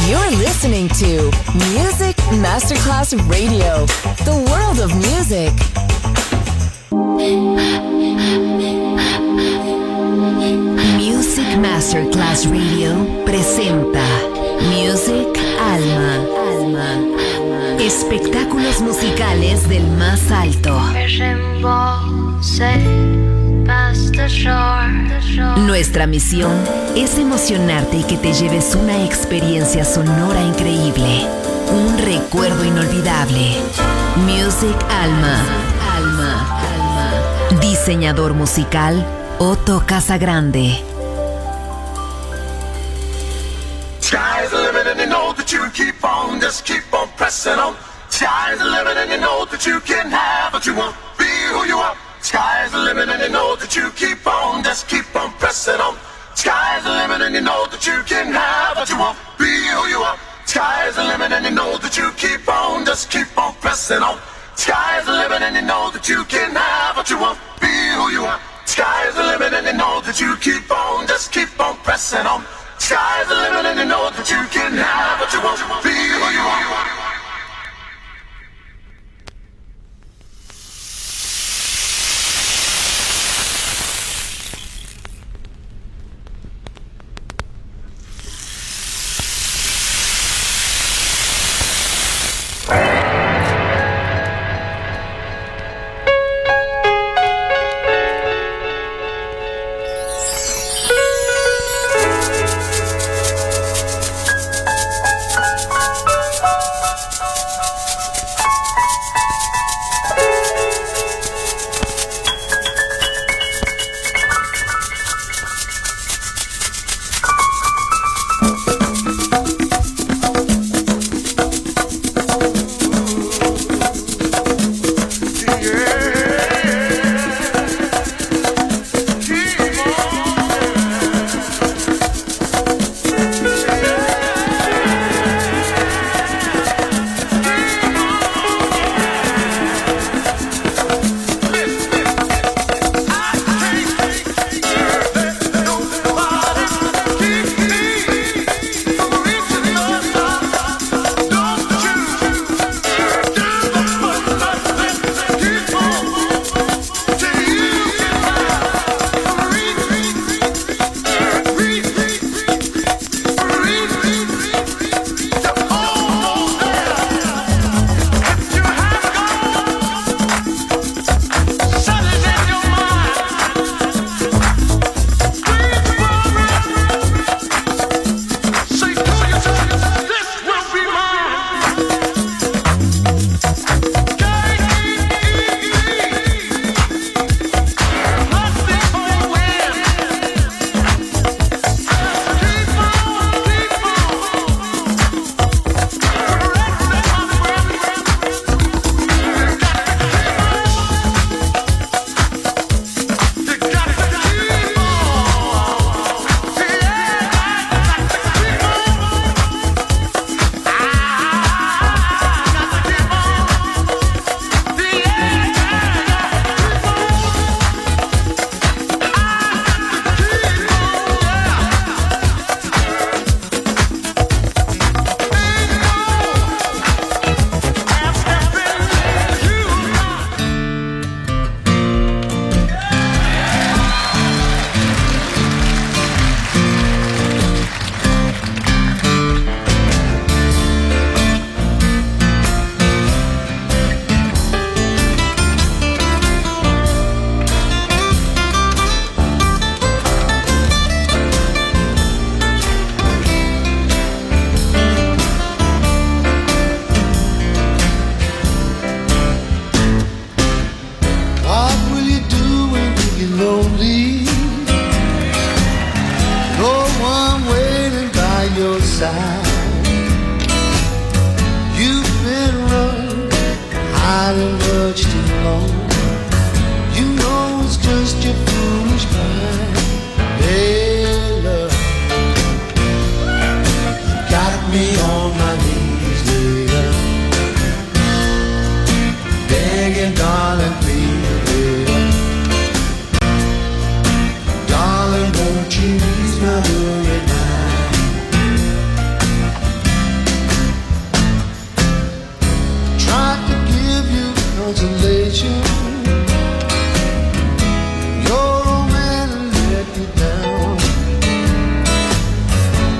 You're listening to Music Masterclass Radio, the world of music. Music Masterclass Radio presenta Music Alma. Espectáculos musicales del más alto. Nuestra misión es emocionarte y que te lleves una experiencia sonora increíble, un recuerdo inolvidable. Music Alma. Diseñador musical Otto Casagrande. Sky's the limit and you know that you keep on, just keep on pressing on. Sky's the limit and you know that you can have what you want, be who you are. Sky's the limit and you know that you keep on, just keep on pressing on. Sky's the limit and you know that you can have what you want, be who you are. Sky's the limit and you know that you keep on, just keep on pressing on. Sky's the limit and you know that you can have what you want, be who you are. Sky's the limit and you know that you keep on, just keep on pressing on. Sky's the limit and you know that you can have what you want, be who you are.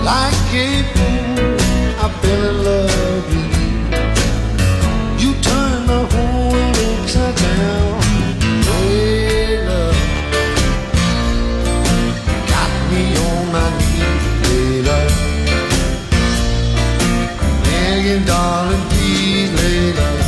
Like April, I fell in love with you. You turned my whole world upside down. Hey, love, got me on my knees, hey, love. Begging, darling, please, hey, love.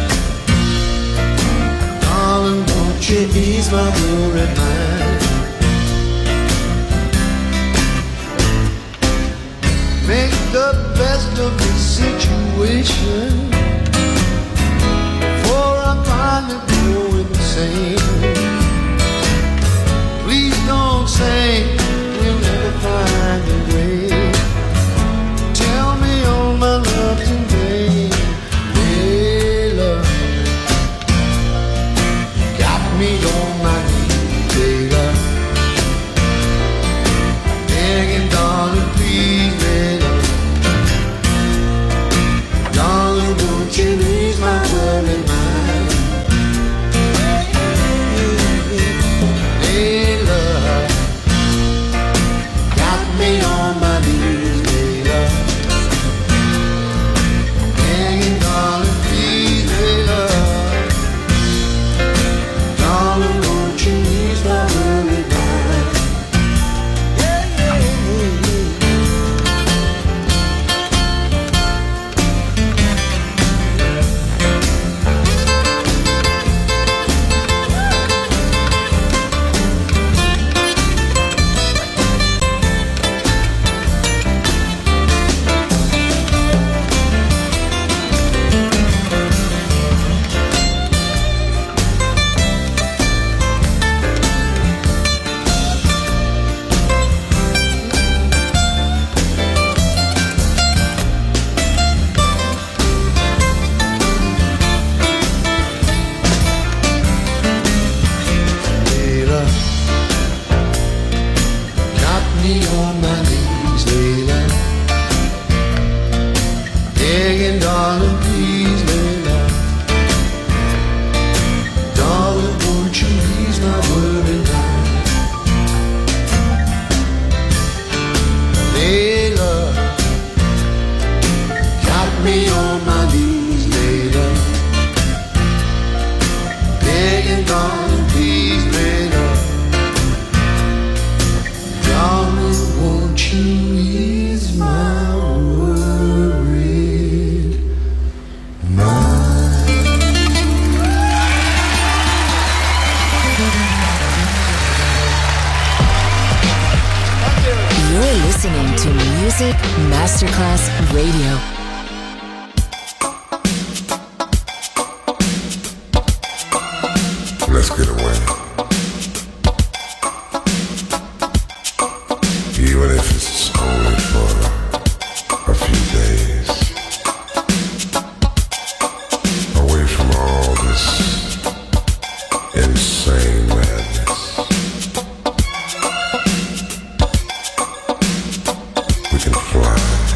Darling, won't you ease my worried mind? Make the best of the situation, for I finally go insane. Please don't say we'll never find a way. Tell me all my love today. Hey, love, got me on my knees, hey, love. Begging, darling, please, hey, love. Darling, won't you ease my worried mind? Hey, love, got me on my knees, hey, love. Begging, darling, please, hey, love. Darling, won't you ease my worried mind? Masterclass Radio. Let's get away. Even if it's only for a few days. Away from all this insane madness. We can fly.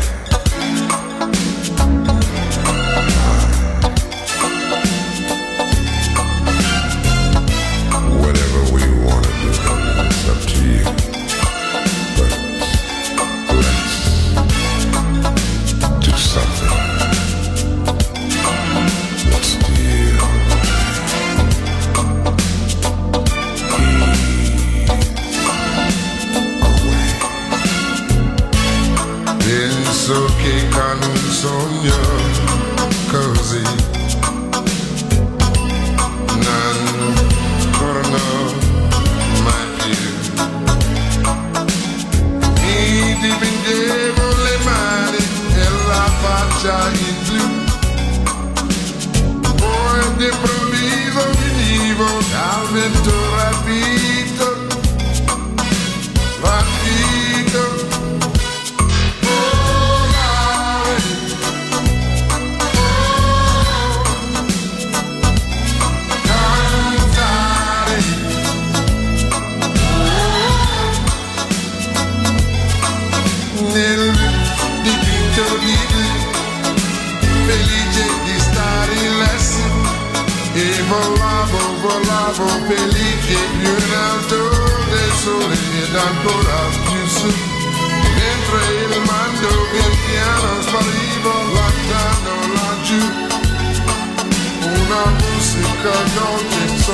volavo felice più in alto del sole ed ancora più su, mentre il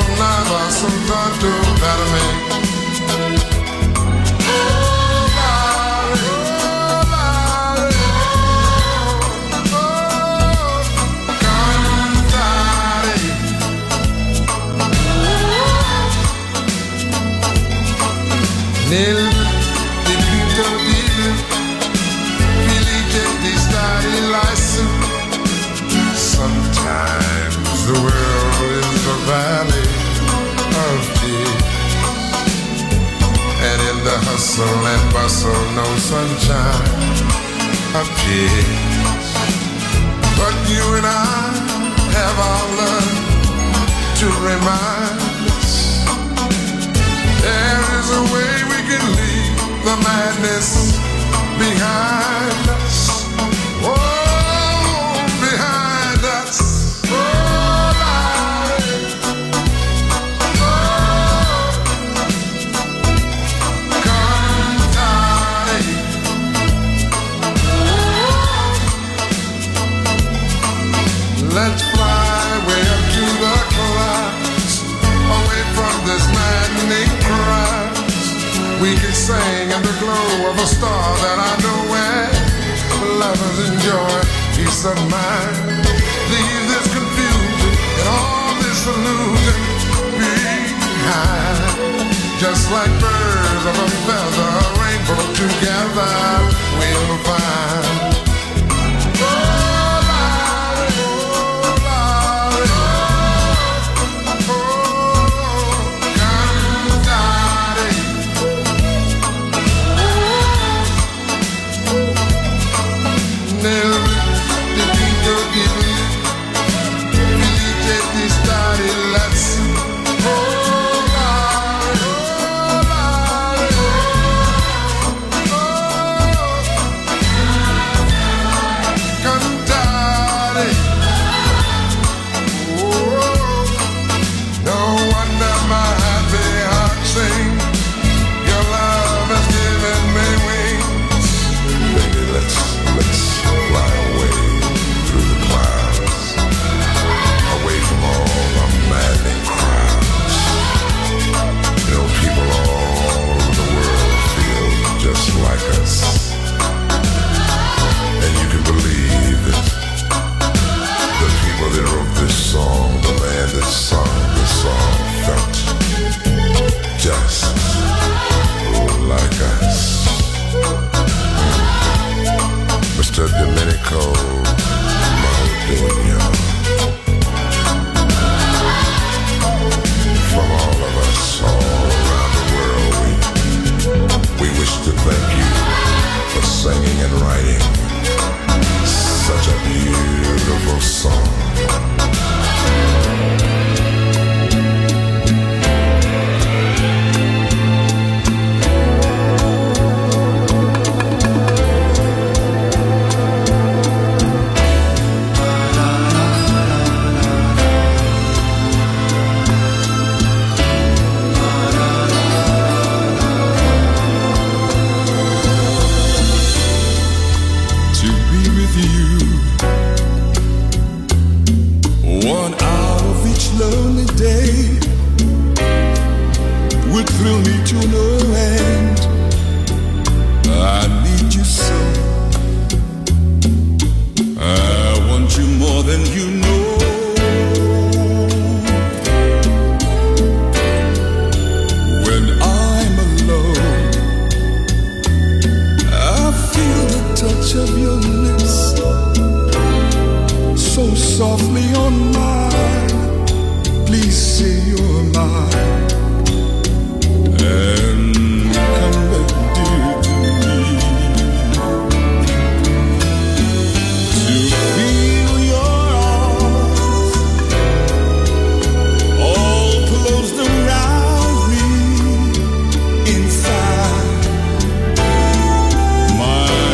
sonava soltanto per me. Nel dipinto di felice di stare lassù. Sometimes the world is a valley of tears, and in the hustle and bustle no sunshine appears. But you and I have our love to remind us there is a way we can leave the madness behind us. Oh, behind us. Oh, life. Oh, cantare. Let's fly way up to the clouds, away from this maddening crowd. We can sing in the glow of a star that I know where lovers enjoy peace of mind. Leave this confusion and all this illusion behind. Just like birds of a feather, a rainbow together we'll find.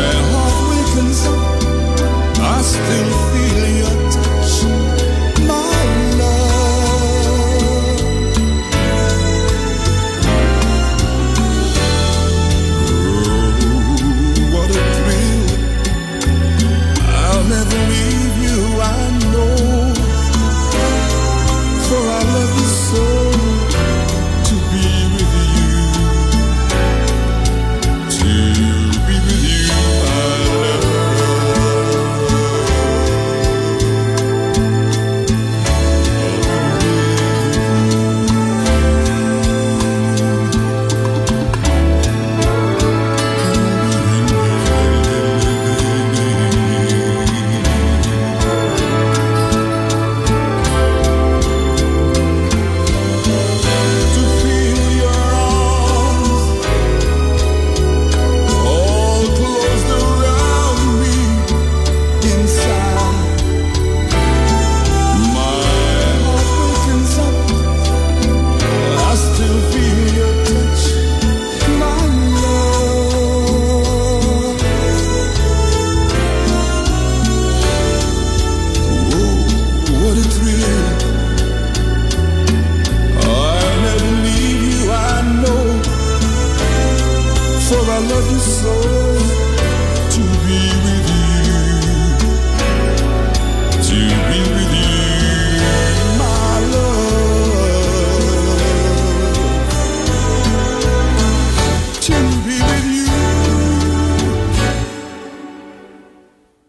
Still feel your touch, my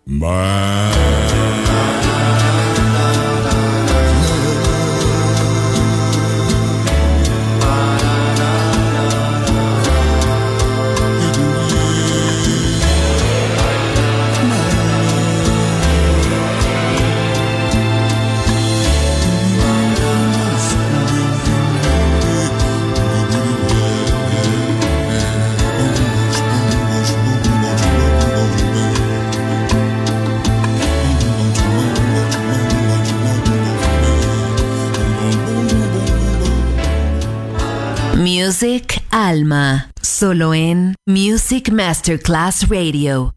Music Alma, solo en Music Masterclass Radio.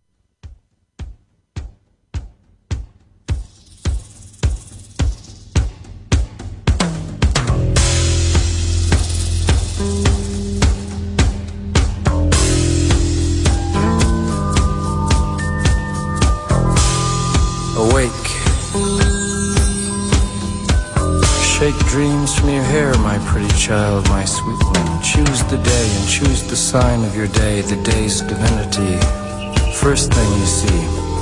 Awake. Shake dreams from your hair, my pretty child, my sweet one. Choose the day and choose the sign of your day, the day's divinity. First thing you see.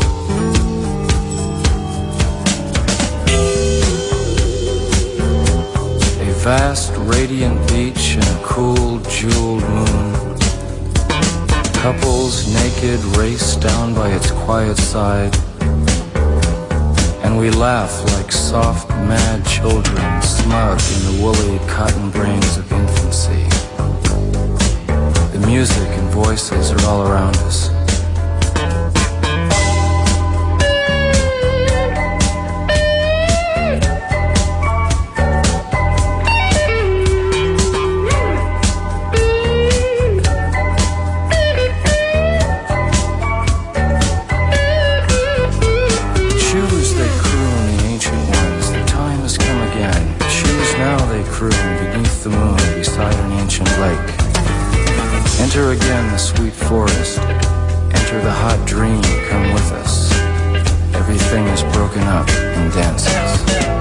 A vast, radiant beach and a cool, jeweled moon. Couples naked race down by its quiet side. And we laugh like soft, mad children, smug in the woolly cotton brains of infancy. The music and voices are all around us. Beneath the moon beside an ancient lake. Enter again the sweet forest. Enter the hot dream, come with us. Everything is broken up and dances.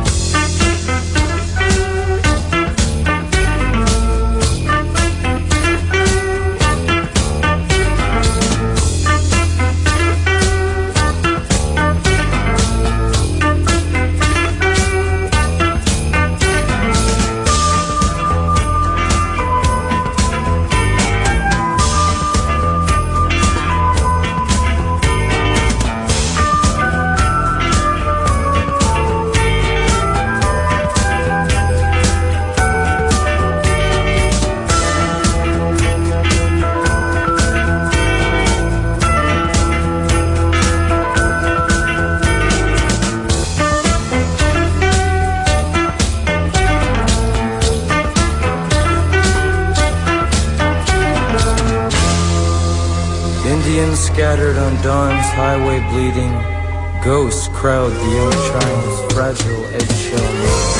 Scattered on dawn's highway bleeding, ghosts crowd the young child's fragile eggshell nose.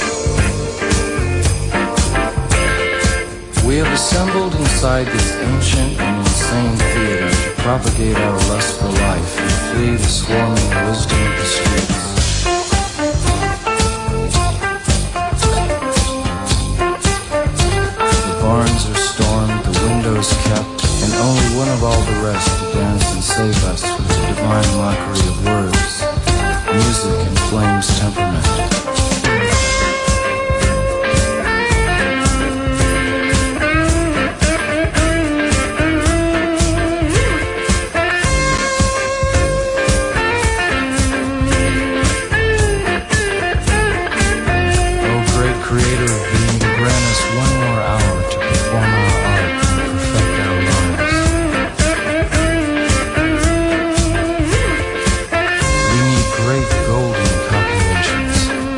We have assembled inside this ancient and insane theater to propagate our lust for life and flee the swarming wisdom of the streets. The barns are stormed, the windows kept, and only one of all the rest to dance and save us with the divine mockery of words, music and flame's temperament. Oh, great creator of being, grant us one more hour to perform our art and perfect our lives. We need great golden copulations.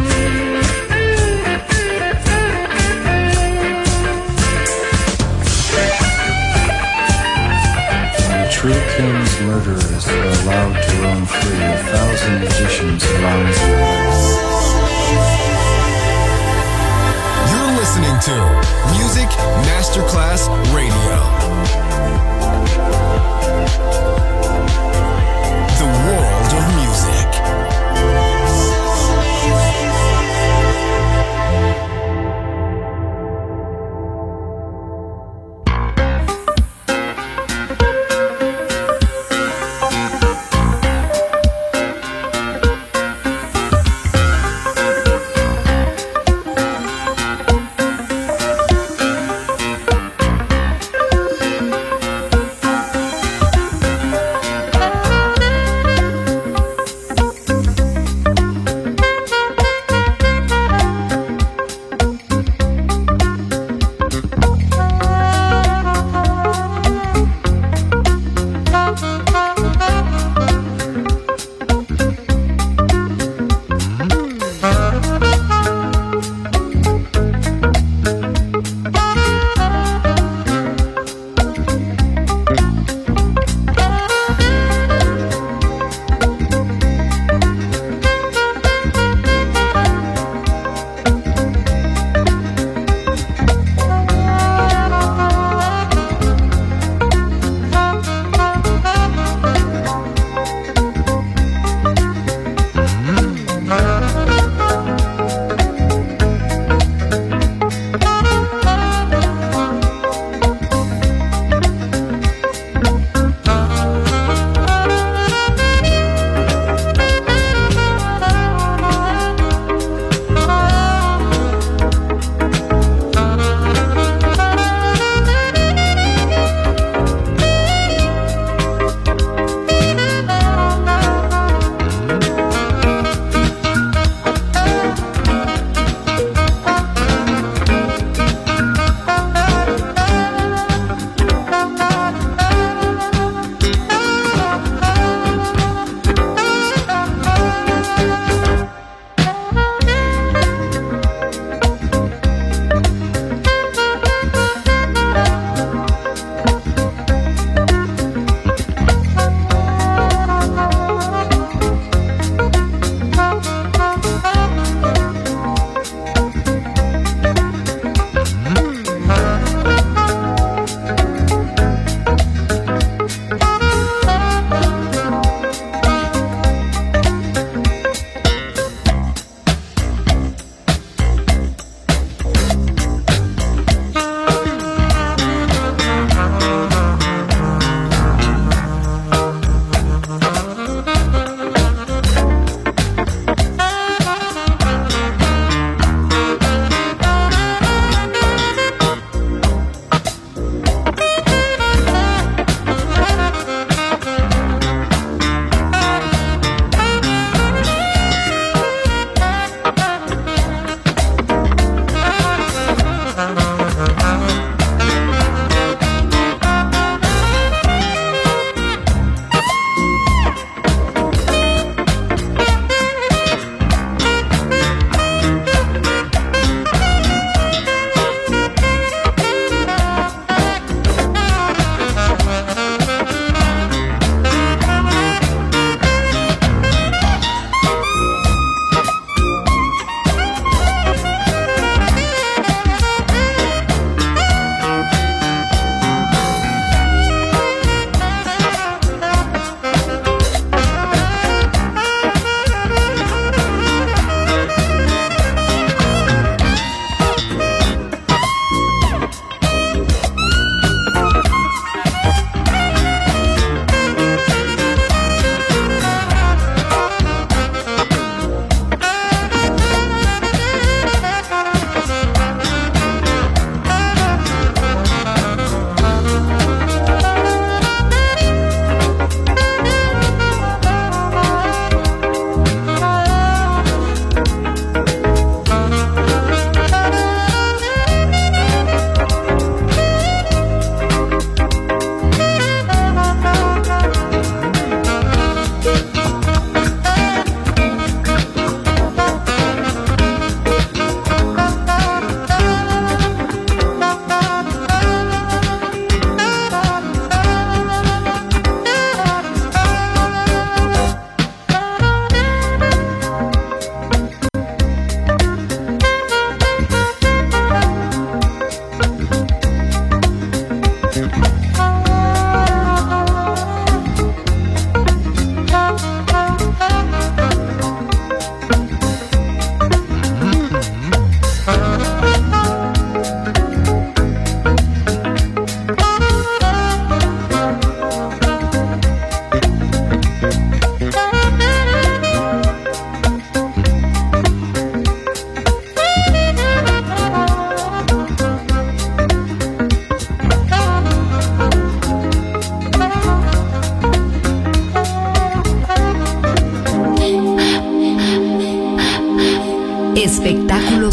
When the true king's murderers are allowed to roam free, 1,000 magicians around the world. You're listening to Music Masterclass Radio. The world of music.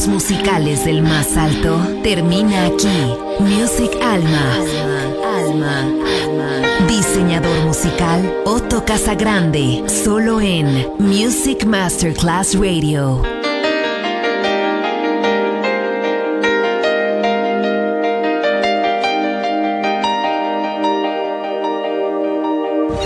gustos musicales del más alto termina aquí. Music Alma. Diseñador musical Otto Casagrande, solo en Music Masterclass Radio.